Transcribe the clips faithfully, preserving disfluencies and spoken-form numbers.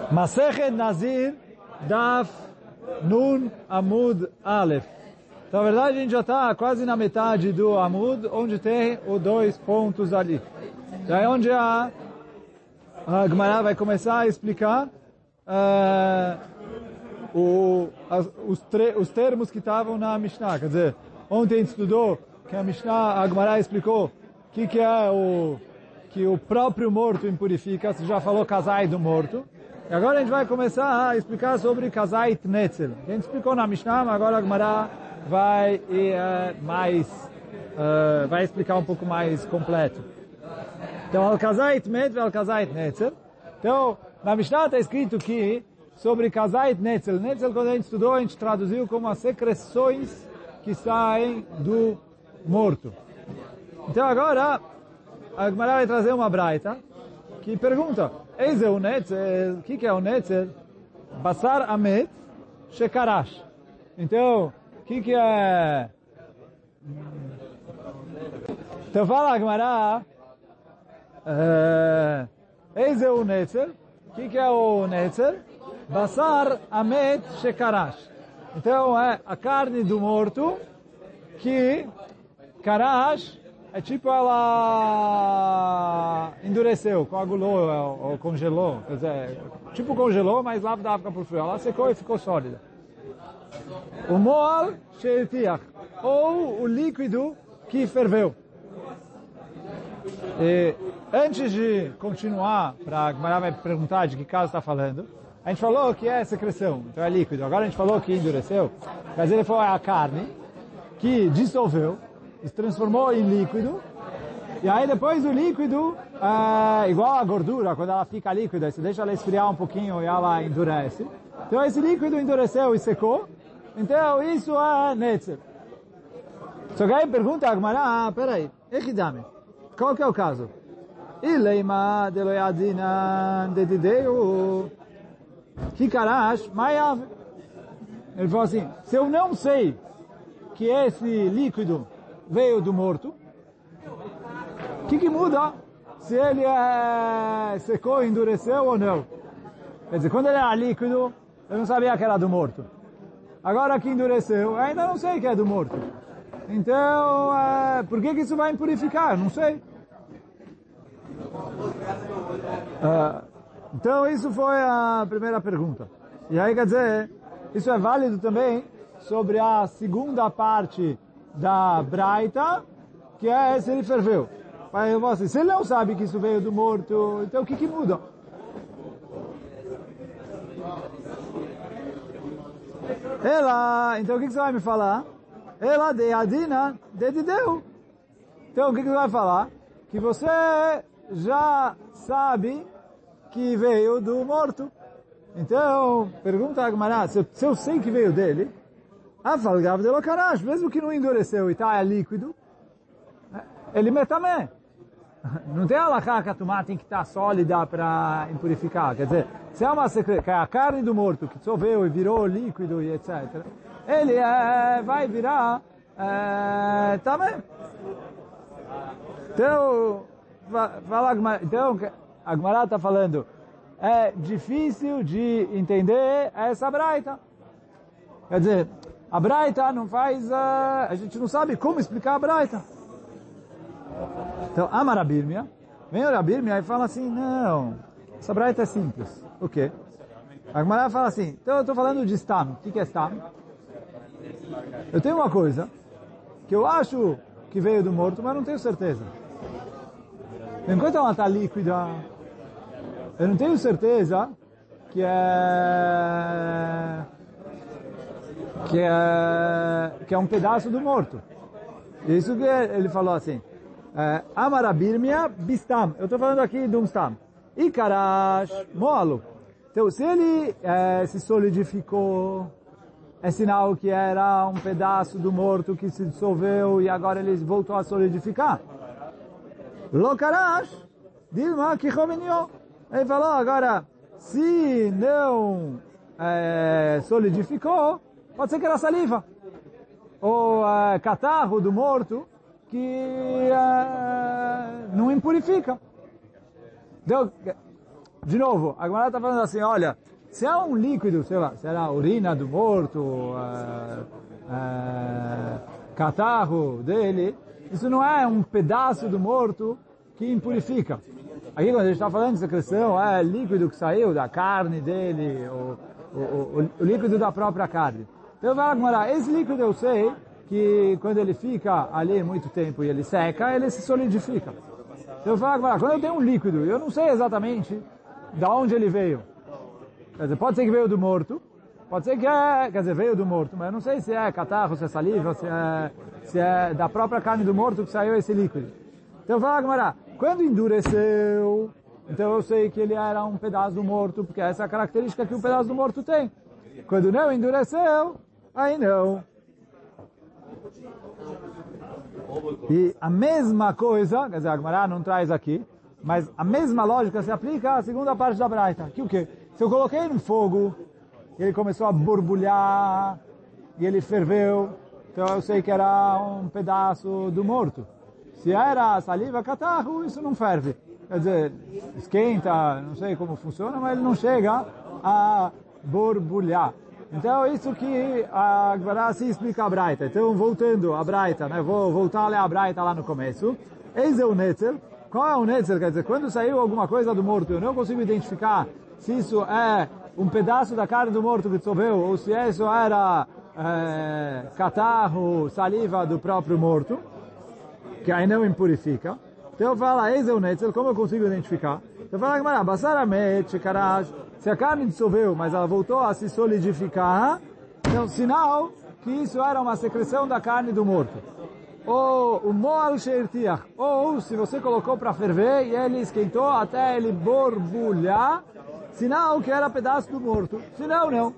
Masechet Nazir, Daf Nun Amud Aleph. Então, na verdade, a gente já está quase na metade do Amud, onde tem os dois pontos ali. Já é onde a, a Gemara vai começar a explicar uh, o, as, os, tre, os termos que estavam na Mishnah. Quer dizer, ontem a gente estudou que a Mishnah, a Gemara explicou o que, que é o que o próprio morto impurifica. Você já falou casai do morto. E agora a gente vai começar a explicar sobre casai tnetzel. A gente explicou na Mishnah, mas agora a Gemara vai, uh, mais, uh, vai explicar um pouco mais completo. Então, al-casai tnetzel, al-casai tnetzel. Então, na Mishnah está escrito que sobre casai tnetzel. Netzel, quando a gente estudou, a gente traduziu como as secreções que saem do morto. Então, agora, a Gemara vai trazer uma braita que pergunta: Eis é o netzel? O que, que é o netzel? Basar amet shekarash. Então, o que, que é? Então fala a Gemara, Eis é o netzel? O que, que é o netzel? Basar amet shekarash. Então é a carne do morto que karash é tipo ela endureceu, coagulou ou congelou, quer dizer, tipo congelou, mas lá da África por frio, ela secou e ficou sólida. O moal sheitiach, ou o líquido que ferveu. E antes de continuar, para a Gemara vai perguntar de que caso está falando, a gente falou que é secreção, então é líquido. Agora a gente falou que endureceu, mas ele foi a carne que dissolveu, se transformou em líquido, e aí depois o líquido, é, igual a gordura, quando ela fica líquida, você deixa ela esfriar um pouquinho e ela endurece. Então esse líquido endureceu e secou, então isso é netzel. Só que aí pergunta a Gemara, ah, peraí, echidame, qual que é o caso? Ileima deloyadinan dedideu kikarash mayav. Ele falou assim, se eu não sei que esse líquido veio do morto, o que, que muda se ele é, secou, endureceu ou não? Quer dizer, quando ele era líquido, eu não sabia que era do morto. Agora que endureceu, eu ainda não sei que é do morto. Então, é, por que, que isso vai impurificar? Não sei. Uh, então, isso foi a primeira pergunta. E aí, quer dizer, isso é válido também sobre a segunda parte da braita, que é se ele ferveu. Mas eu vou assim, se ele não sabe que isso veio do morto, então o que que muda? Ela, então o que que você vai me falar? Ela de adina dedideu. Então o que que você vai falar? Que você já sabe que veio do morto. Então, pergunta a Gemara, se, se eu sei que veio dele, afalgav de lokarash, mesmo que não endureceu e está líquido, ele metamé. Não tem alahá que a tomada tem que estar sólida para impurificar. Quer dizer, se é uma secre... que é a carne do morto que dissolveu e virou líquido e etcétera, ele é, vai virar é, também. Então, fala, então, a Gemara está falando, é difícil de entender essa braita. Quer dizer, a braita não faz, uh, a gente não sabe como explicar a braita. Então, ama Rabirmia, vem o Rabirmia e fala assim, não, essa braita é simples. O quê? A Gemara fala assim, então eu estou falando de Stam. O que, que é Stam? Eu tenho uma coisa que eu acho que veio do morto, mas não tenho certeza. Enquanto ela está líquida, eu não tenho certeza que é... que é, que é um pedaço do morto. Isso que ele falou assim, Amarabirmia bistam. Eu estou falando aqui de um stam. E karash moalo. Então, se ele é, se solidificou, é sinal que era um pedaço do morto que se dissolveu e agora ele voltou a solidificar. Lo karash, dilma kichominyo. Ele falou, agora, se não é, solidificou, pode ser que era saliva. Ou uh, catarro do morto que uh, não impurifica. Então, de novo, a Gemara está falando assim, olha, se é um líquido, sei lá, será a urina do morto, uh, uh, catarro dele, isso não é um pedaço do morto que impurifica. Aqui quando a gente está falando de secreção, é líquido que saiu da carne dele, o, o, o, o líquido da própria carne. Então vai Gemara, esse líquido eu sei que quando ele fica ali muito tempo e ele seca, ele se solidifica. Então eu falo, quando eu tenho um líquido, eu não sei exatamente de onde ele veio. Quer dizer, pode ser que veio do morto, pode ser que é, quer dizer, veio do morto, mas eu não sei se é catarro, se é saliva, se é, se é da própria carne do morto que saiu esse líquido. Então eu falo, Gamara, quando endureceu, então eu sei que ele era um pedaço do morto, porque essa é a característica que um pedaço do morto tem. Quando não endureceu, aí não. E a mesma coisa, quer dizer, a Gemara não traz aqui, mas a mesma lógica se aplica à segunda parte da Braita. Que o quê? Se eu coloquei no fogo, ele começou a borbulhar, e ele ferveu, então eu sei que era um pedaço do morto. Se era saliva, catarro, isso não ferve. Quer dizer, esquenta, não sei como funciona, mas ele não chega a borbulhar. Então, isso que a Gemara se explica a Braita. Então, voltando à Braita, né? Vou voltar a ler a Braita lá no começo. Eis é o Netzer. Qual é o Netzer? Quer dizer, quando saiu alguma coisa do morto, eu não consigo identificar se isso é um pedaço da carne do morto que dissolveu, ou se isso era é, catarro, saliva do próprio morto, que aí não impurifica. Então, fala, eis é o Netzer. Como eu consigo identificar? Então, fala, Gemara, Basaramet, Shekarash. Se a carne dissolveu, mas ela voltou a se solidificar, é um sinal que isso era uma secreção da carne do morto. Ou o moal sheirtiach, ou se você colocou para ferver e ele esquentou até ele borbulhar, sinal que era pedaço do morto. Senão, não.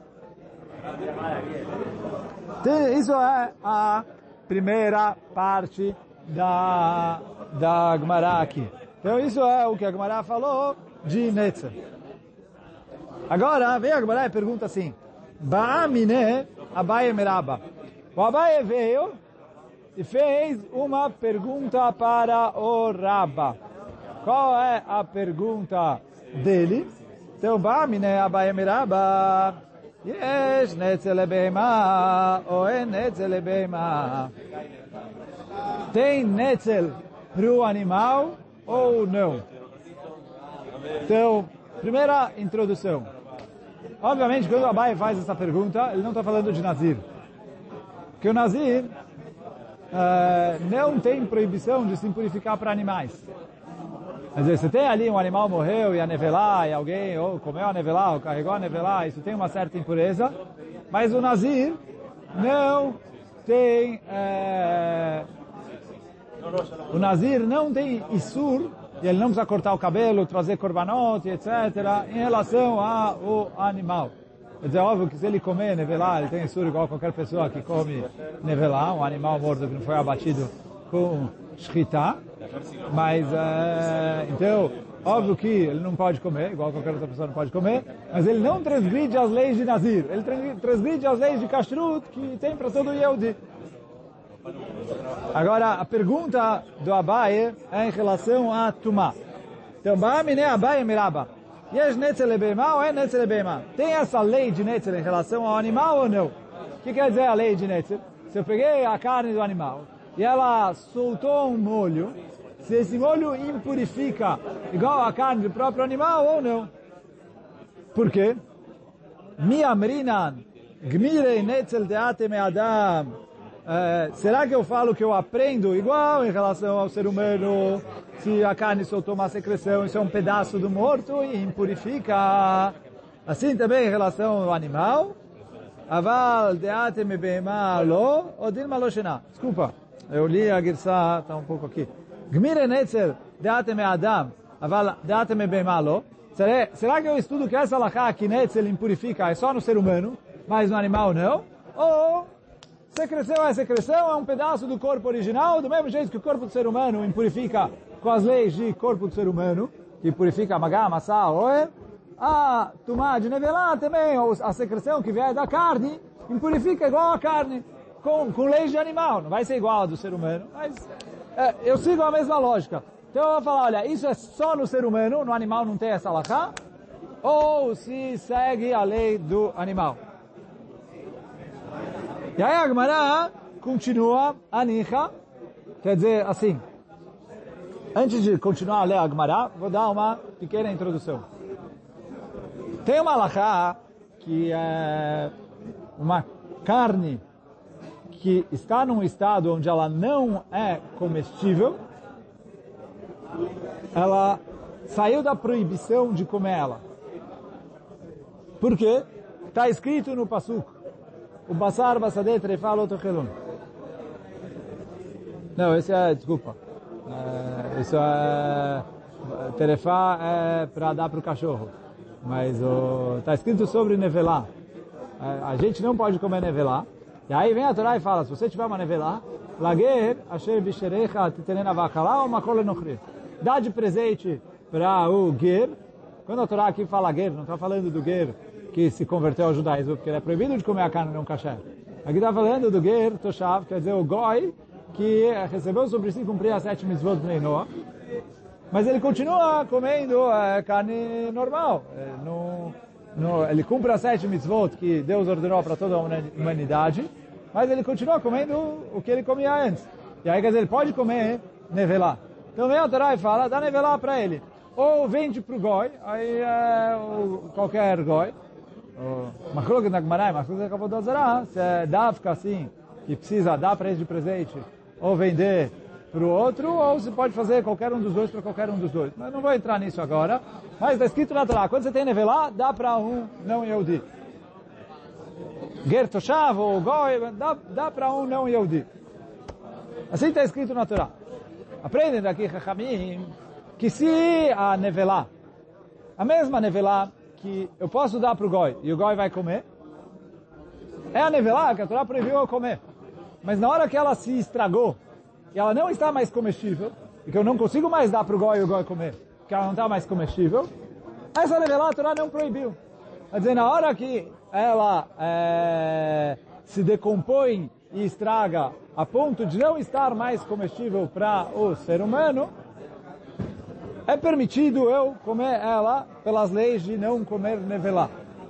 Isso é a primeira parte da, da Gemara aqui. Então isso é o que a Gemara falou de Netzer. Agora, vem a Gemara e pergunta assim, Ba'amine Abaye Meraba. O Abaye veio e fez uma pergunta para o Rabba. Qual é a pergunta dele? Então, Ba'amine Abaye Meraba. Yesh netzel lebeima, ou en netzel lebeima. Tem netzel para o animal ou não? Então, primeira introdução. Obviamente, quando o Abaye faz essa pergunta, ele não está falando de Nazir. Porque o Nazir uh, não tem proibição de se impurificar para animais. Quer dizer, você tem ali um animal morreu e a nevelar, e alguém ou comeu a nevelar, ou carregou a nevelar, isso tem uma certa impureza. Mas o Nazir não tem... Uh, o Nazir não tem Isur, e ele não precisa cortar o cabelo, trazer korbanot, etcétera, em relação ao animal. Quer dizer, óbvio que se ele comer nevelá, ele tem Isur igual qualquer pessoa que come nevelá, um animal morto que não foi abatido com shchita. Mas, é, então, óbvio que ele não pode comer, igual qualquer outra pessoa não pode comer, mas ele não transgride as leis de Nazir. Ele transgride as leis de Kashrut que tem para todo Yehudi. Agora, a pergunta do Abaye é em relação a Tumá. Então, Ba'amine Abaye Meraba. Yesh netzel lebeima ou é netzel lebeima? Tem essa lei de netzel em relação ao animal ou não? O que quer dizer a lei de netzel? Se eu peguei a carne do animal e ela soltou um molho, se esse molho impurifica igual a carne do próprio animal ou não? Por quê? Mi amrinan gmirei netzel deate me adam. Uh, será que eu falo que eu aprendo igual em relação ao ser humano? Se a carne soltou uma secreção, isso é um pedaço do morto e impurifica. Assim também em relação ao animal. Aval deate me beima lo, odin maloshena. Desculpa, eu li a Girsá, está um pouco aqui. Gmire netzer deate me adam, aval deate me beima lo. Será que eu estudo que essa alahá que netzer impurifica é só no ser humano, mas no animal não? Ou... secreção é secreção, é um pedaço do corpo original, do mesmo jeito que o corpo do ser humano impurifica com as leis de corpo do ser humano, que purifica magá, massá, oer, a tumá de nevelá também, a secreção que vier da carne, impurifica igual a carne, com, com leis de animal. Não vai ser igual a do ser humano, mas é, eu sigo a mesma lógica. Então eu vou falar, olha, isso é só no ser humano, no animal não tem essa alahá, ou se segue a lei do animal. E aí a Gemara continua, anicha, quer dizer assim, antes de continuar a ler a Gemara, vou dar uma pequena introdução. Tem uma alahá que é uma carne que está num estado onde ela não é comestível, ela saiu da proibição de comer ela. Por quê? Está escrito no Pasuk, o basar basadeh trefa lo tochelun. Não, esse é, desculpa, é, isso é, terefá é para dar para o cachorro, mas está escrito sobre nevelá. É, a gente não pode comer nevelá. E aí vem a Torá e fala, se você tiver uma nevelá, lager asher bisherecha titenena vachalá ou makol enochri. Dá de presente para o ger. Quando a Torá aqui fala ger, não está falando do ger que se converteu ao judaísmo, porque ele é proibido de comer a carne não kasher. Aqui está falando do ger toshav, quer dizer, o goi, que recebeu sobre si cumprir as sete mitzvot de Noah, mas ele continua comendo é, carne normal. É, no, no, ele cumpre as sete mitzvot que Deus ordenou para toda a humanidade, mas ele continua comendo o que ele comia antes. E aí, quer dizer, ele pode comer nevelá. Então vem a Torá e fala, dá nevelá para ele. Ou vende para o goi, aí é o, qualquer goi. Machlok na Gemara, Machlok acabou de azará, se é dafka assim, que precisa dar para ele de presente, ou vender para o outro, ou se pode fazer qualquer um dos dois para qualquer um dos dois. Mas não vou entrar nisso agora. Mas está escrito na Torá, quando você tem nevelá, dá para um não Yehudi. Ger toshav ou goi, dá, dá para um não Yehudi. Assim está escrito na Torá. Aprendem daqui, Chachamim, que se a nevelá, a mesma nevelá que eu posso dar para o goi e o goi vai comer, é a nevelá que a Torá proibiu eu comer. Mas na hora que ela se estragou e ela não está mais comestível, e que eu não consigo mais dar para o goi e o goi comer, porque ela não está mais comestível, essa nevelá a Torá não proibiu. Quer dizer, na hora que ela é, se decompõe e estraga a ponto de não estar mais comestível para o ser humano, é permitido eu comer ela pelas leis de não comer nevelá.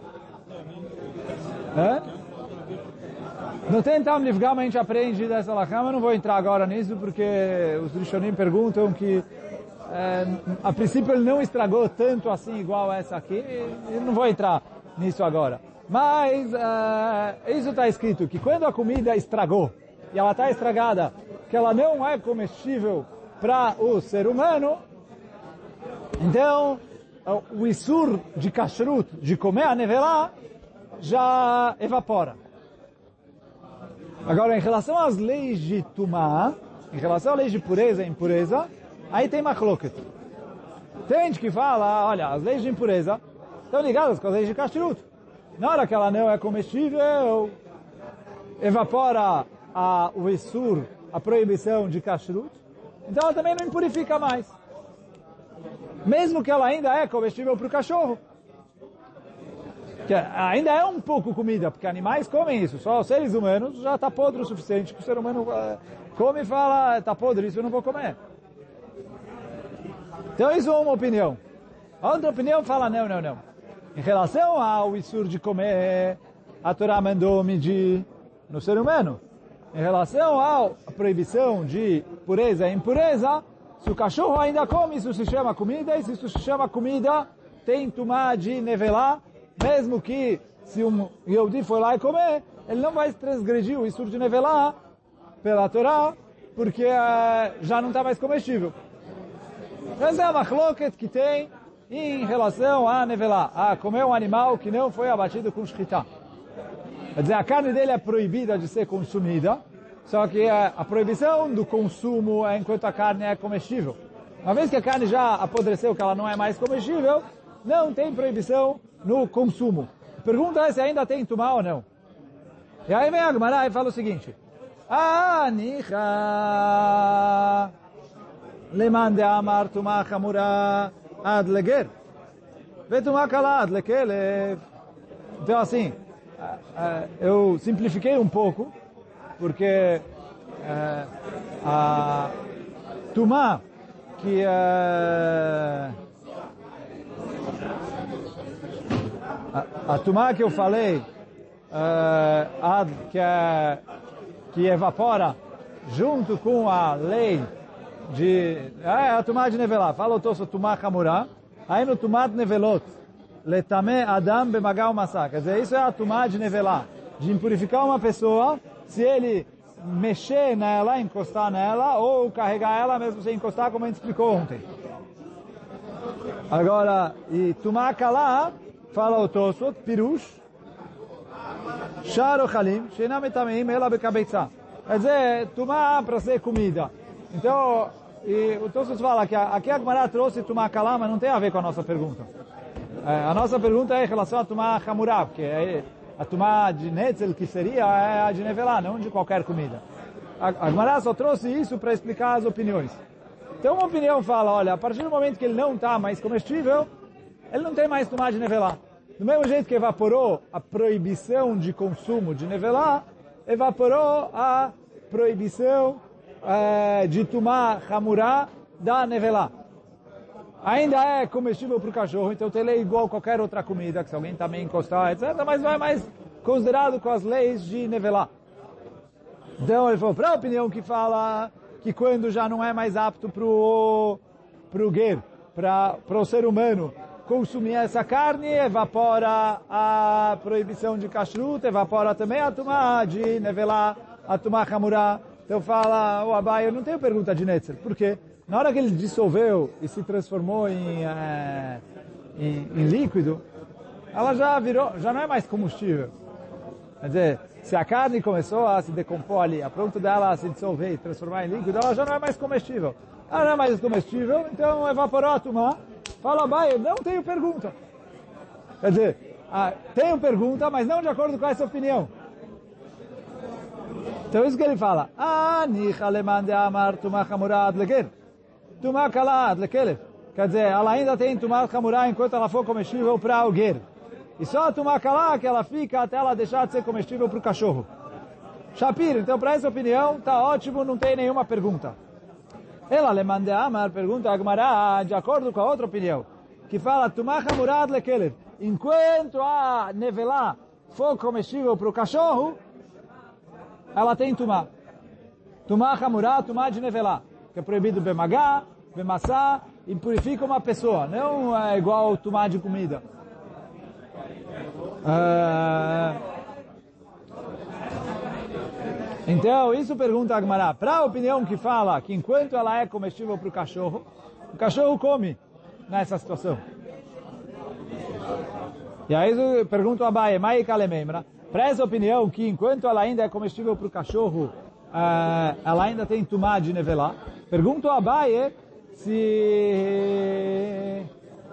É? No Tentam Nifgam a gente aprende dessa alahá, mas não vou entrar agora nisso, porque os Rishonim perguntam que é, a princípio ele não estragou tanto assim igual essa aqui, e não vou entrar nisso agora. Mas é, isso está escrito, que quando a comida estragou, e ela está estragada, que ela não é comestível para o ser humano, então o isur de kashrut, de comer a nevelá, já evapora. Agora, em relação às leis de tumá, em relação às leis de pureza e impureza, aí tem machloket. Tem gente que fala, olha, as leis de impureza estão ligadas com as leis de kashrut. Na hora que ela não é comestível, evapora a, o isur, a proibição de kashrut, então ela também não impurifica mais. Mesmo que ela ainda é comestível para o cachorro. Que ainda é um pouco comida, porque animais comem isso. Só os seres humanos já está podre o suficiente que o ser humano uh, come e fala, está podre, isso eu não vou comer. Então isso é uma opinião. A outra opinião fala, não, não, não. Em relação ao isur de comer, a Torá mandou medir no ser humano. Em relação à proibição de pureza e impureza, se o cachorro ainda come, isso se chama comida, e se isso se chama comida, tem tumá de nevelá, mesmo que se um Yehudi for lá e comer, ele não vai transgredir o isur de nevelá pela Torá, porque uh, já não está mais comestível. Essa é a machloket que tem em relação a nevelá, a comer um animal que não foi abatido com shchita. Quer dizer, a carne dele é proibida de ser consumida, só que a proibição do consumo é enquanto a carne é comestível. Uma vez que a carne já apodreceu, que ela não é mais comestível, não tem proibição no consumo. A pergunta é se ainda tem tumá ou não. E aí vem a Gemara e fala o seguinte: Anicha leman de amar tumá chamura ad leger vetumá kala ad lekelev. Então assim, eu simplifiquei um pouco, porque é, a tumá que uh, a, a tumá que eu falei, uh, que, é, que evapora junto com a lei de... É a tumá de nevelá. Fala o Tosso tumá chamurá. Aí no tumá de nevelot. Letame adam bemagal massá. Quer dizer, isso é a tumá de nevelá. De impurificar uma pessoa se ele mexer nela, encostar nela, ou carregar ela mesmo sem encostar, como a gente explicou ontem. Agora, e tumá kalá, fala o Tosso, pirush, sharo chalim, sheinam etameim ela bekabeitzá. Quer dizer, tumá para ser comida. Então, e o Tosfos fala que aqui a Gemara trouxe tumá kalá, mas não tem a ver com a nossa pergunta. É, a nossa pergunta é em relação a tumá chamurá, porque é, a tumá de netzel, que seria é a de nevelá, não de qualquer comida. A, a Gemara só trouxe isso para explicar as opiniões. Então uma opinião fala, olha, a partir do momento que ele não está mais comestível, ele não tem mais tumá de nevelá. Do mesmo jeito que evaporou a proibição de consumo de nevelá, evaporou a proibição é, de tumá chamurá da nevelá. Ainda é comestível para o cachorro, então ele é igual a qualquer outra comida, que se alguém também encostar, etcétera, mas não é mais considerado com as leis de nevelá. Então ele falou, para a opinião que fala que quando já não é mais apto para o ger, para o ser humano, consumir essa carne, evapora a proibição de kashrut, evapora também a tumá de nevelá, a tumá chamurá. Então fala, o Abai, eu não tenho pergunta de netzer. Por quê? Na hora que ele dissolveu e se transformou em, é, em, em líquido, ela já virou, já não é mais combustível. Quer dizer, se a carne começou a se decompor ali, a ponto dela se dissolver e transformar em líquido, ela já não é mais comestível. Ela não é mais comestível, então evaporou a tumá. Fala, Abai, não tenho pergunta. Quer dizer, ah, tenho pergunta, mas não de acordo com essa opinião. Então isso que ele fala. Ani chaleman de amar tumá chamurá ad leger. Tumá kalá ad lekelef. Quer dizer, ela ainda tem tumá chamurá enquanto ela for comestível para o ger. E só a tumá kalá que ela fica até ela deixar de ser comestível para o cachorro. Shapir, então para essa opinião, tá ótimo, não tem nenhuma pergunta. Ela le mande amar, pergunta a Gemara, de acordo com a outra opinião, que fala, tumá chamurá ad lekelef. Enquanto a nevelá for comestível para o cachorro, ela tem tumá. Tumá chamurá, tumá de nevelá, que é proibido bemagá, bemassá, e purifica uma pessoa, não é igual tumá de comida. Uh, então, isso pergunta a Gemara. Para a opinião que fala que enquanto ela é comestível para o cachorro, o cachorro come nessa situação. E aí pergunta a Abai, Mai Kalemembra. Para essa opinião que enquanto ela ainda é comestível para o cachorro, uh, ela ainda tem tumá de nevelá. Pergunta a Abai se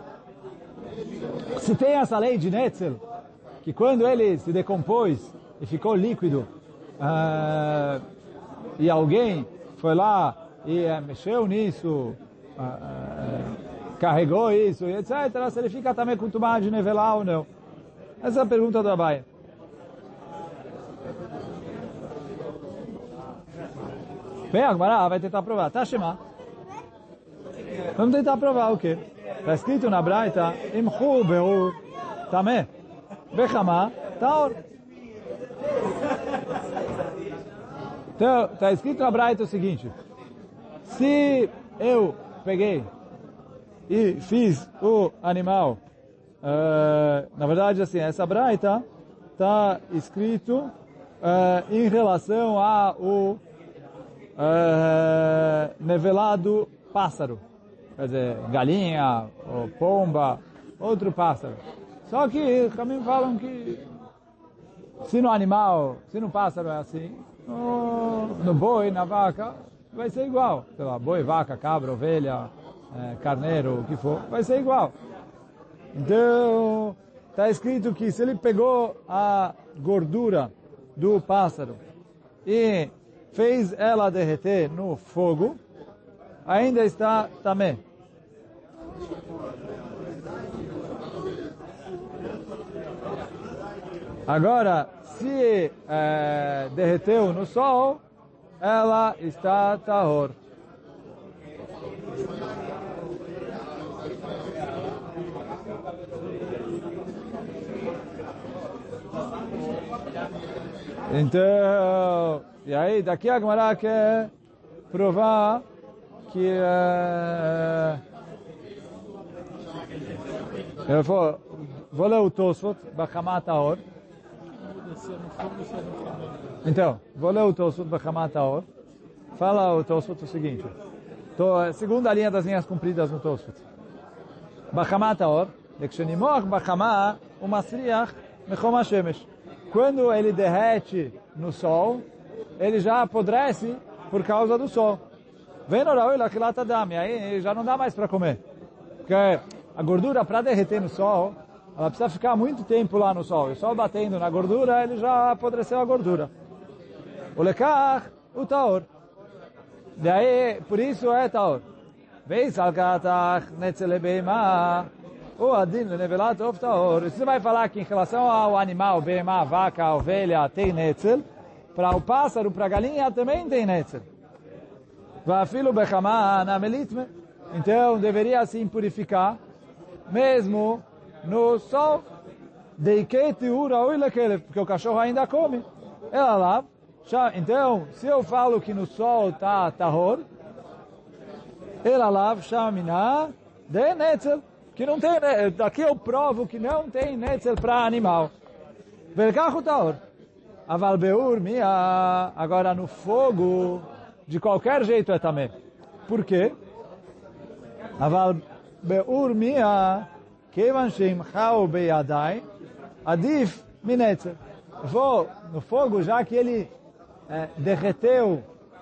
se tem essa lei de netzel, que quando ele se decompôs e ficou líquido, uh, e alguém foi lá e uh, mexeu nisso, uh, uh, carregou isso, etcétera, se ele fica também com tumá de nevelá ou não. Essa é a pergunta do Abai. Bem, a Gemara vai tentar provar. Tá, Shema? Vamos tentar provar o quê? Está escrito na Braita, Imchu be'ur tameh, bechama taor. Então, está escrito na Braita o seguinte, se eu peguei e fiz o animal, uh, na verdade, assim, essa Braita está escrito uh, em relação ao uh, nevelado pássaro. Quer dizer, galinha, ou pomba, outro pássaro. Só que também falam que se no animal, se no pássaro é assim, no, no boi, na vaca, vai ser igual. Sei lá, boi, vaca, cabra, ovelha, é, carneiro, o que for, vai ser igual. Então, está escrito que se ele pegou a gordura do pássaro e fez ela derreter no fogo, ainda está tamé. Agora, se é, derreteu no sol, ela está tahor. Então, e aí daqui a Gemara quer provar que uh, eu vou, vou ler o Tosfot, Bachamat Haor. Então, vou ler o Tosfot, Bachamat Haor. Fala o Tosfot o seguinte, tô, segunda linha das linhas compridas no Tosfot. Bachamat Haor, Lekshenimoch Bachama Umasriach Mechom HaShemesh. Quando ele derrete no sol, ele já apodrece por causa do sol. Vem no Raul Lachilat Adam, aí já não dá mais para comer. Porque a gordura, para derreter no sol, ela precisa ficar muito tempo lá no sol. E o sol batendo na gordura, ele já apodreceu a gordura. O lekach, o taor. Daí, por isso é taor. Veis alkatach netzelebeima, o adin lenevelat of taor. Você vai falar que em relação ao animal, beima, vaca, ovelha, tem netzel. Para o pássaro, para a galinha, também tem netzel. Vafilo bechama na melitme. Então, deveria se purificar, mesmo no sol. Deiketi ura oilekele, porque o cachorro ainda come. Ela lá. Então, se eu falo que no sol está tahor, ela lá, shamina, de netzel, que não tem, daqui eu provo que não tem netzel para animal. Velkachu tahor. Aval beur mia, agora no fogo, de qualquer jeito é também. Por quê? Aval beur mia, kevan sheimchau beyadai, adif minetzer. Vou no fogo, já que ele é, derreteu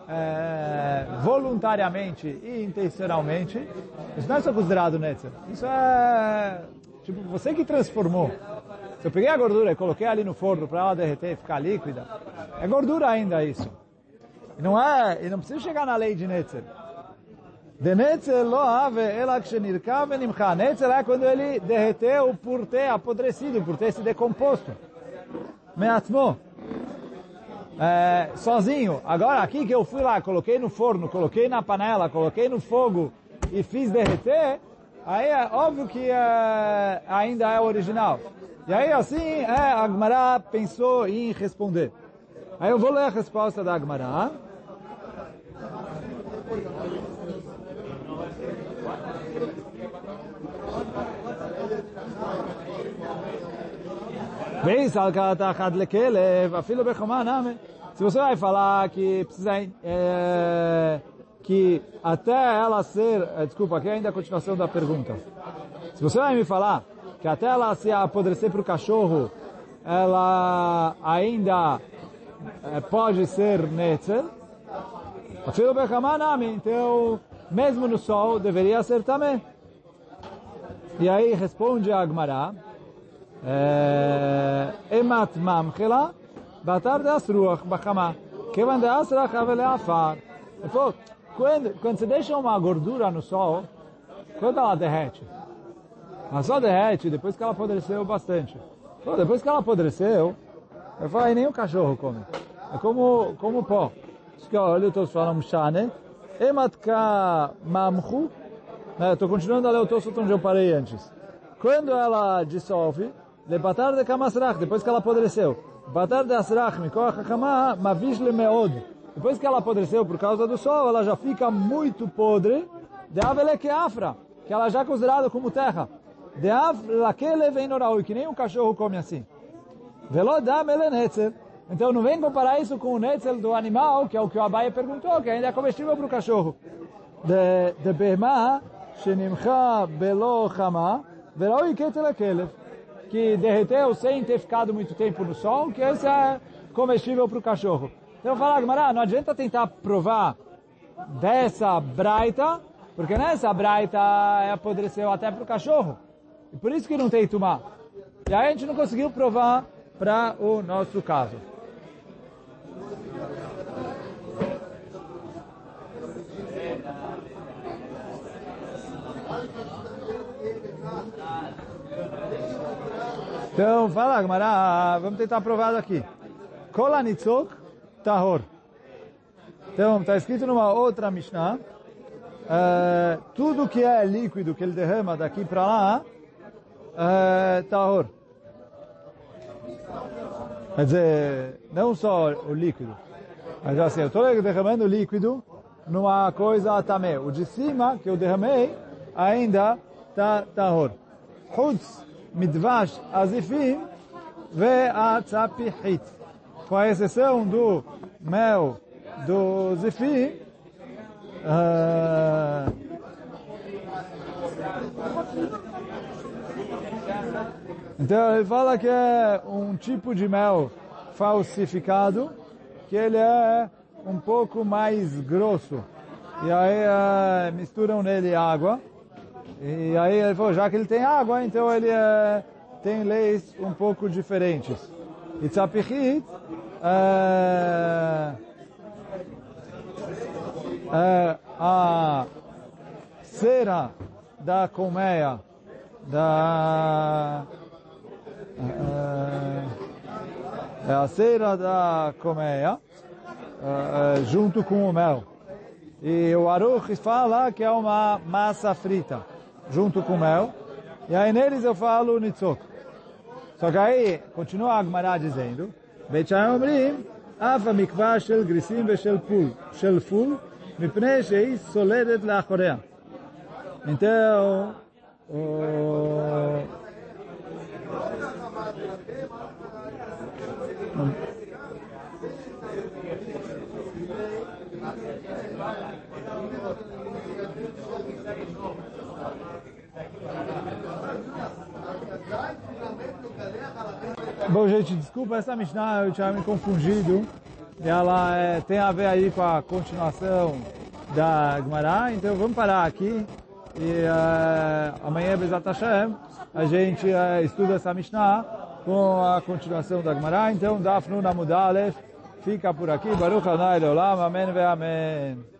é, voluntariamente e intencionalmente, isso não é só considerado netzer. Isso é, tipo, você que transformou. Se eu peguei a gordura e coloquei ali no forno para ela derreter e ficar líquida, é gordura ainda isso. E não é, e não precisa chegar na lei de netzer. De netzer lo ave ela kshenirkav venimcha. Netzer é quando ele derreteu por ter apodrecido, por ter se decomposto. Meatmo. É, sozinho. Agora aqui que eu fui lá, coloquei no forno, coloquei na panela, coloquei no fogo e fiz derreter, aí é óbvio que é, ainda é original. E aí assim, é, a Gemara pensou em responder. Aí eu vou ler a resposta da Gemara. Se você vai falar que precisa é, que até ela ser, é, desculpa, aqui ainda é a continuação da pergunta. Se você vai me falar que até ela se apodrecer para o cachorro, ela ainda é, pode ser netzel, então mesmo no sol deveria ser também. E aí responde a Gemara, emat mamchela batar de asruach bachama kevan de asrach avele afar. Quando quando você deixa uma gordura no sol, quando ela derrete, ela só derrete depois que ela apodreceu bastante. Pô, depois que ela apodreceu, eu falo, nem o cachorro come. É como como pó. Isso que olha, eu estou falando shane emat ka mamchu. Estou continuando a ler o Tosfot onde eu parei antes. Quando ela dissolve, lebatar de kamasrach, depois que ela apodreceu, batar de asrach, mikoach hakama, mavish lemeod. Depois que ela apodreceu por causa do sol, ela já fica muito podre, de avele que afra, que ela já é considerada como terra. De av lakele vem noraui, que nem um cachorro come assim. Velodam ele netzel. Então não vem comparar isso com o netzel do animal, que é o que o Abaye perguntou, que ainda é comestível para o cachorro. De, de behma, shenimcha belo chama, veraui ketel akelev, que derreteu sem ter ficado muito tempo no sol, que esse é comestível para o cachorro. Então eu falo, Gemara, não adianta tentar provar dessa braita, porque nessa braita apodreceu até para o cachorro. E por isso que não tem tumá. E aí a gente não conseguiu provar para o nosso caso. Então, fala, Gemara, vamos tentar provar aqui. Kol hanitzok tahor. Então, está escrito numa outra Mishnah, uh, tudo que é líquido, que ele derrama daqui para lá, uh, tahor. Quer dizer, não só o líquido, mas assim, eu estou derramando líquido numa coisa tamé. O de cima, que eu derramei, ainda está tahor. Chutz midvash azifim ve'atzapihit. Com a exceção do mel do zifim, uh, então ele fala que é um tipo de mel falsificado, que ele é um pouco mais grosso. E aí uh, misturam nele água. E aí ele falou, já que ele tem água, então ele uh, tem leis um pouco diferentes. E tzapichit é, é a cera da colmeia, da é, é a cera da colmeia é, junto com o mel. E o Aruch fala que é uma massa frita junto com mel. E aí neles eu falo nitzok. Só que aí continua a Gemara dizendo, Beit Shammai אומרים, אף המקווה של גריסים ושל פול, של פול, מפני שהיא סולדת לאחוריה. Então, o... Bom, gente, desculpa essa Mishnah, eu tinha me confundido. Ela é, tem a ver aí com a continuação da Gemara, então vamos parar aqui. E uh, amanhã, Bezat Hashem, a gente uh, estuda essa Mishnah com a continuação da Gemara. Então, Daf Nun Amud Aleph fica por aqui. Baruch Adonai Leolam, Amém ve Amém.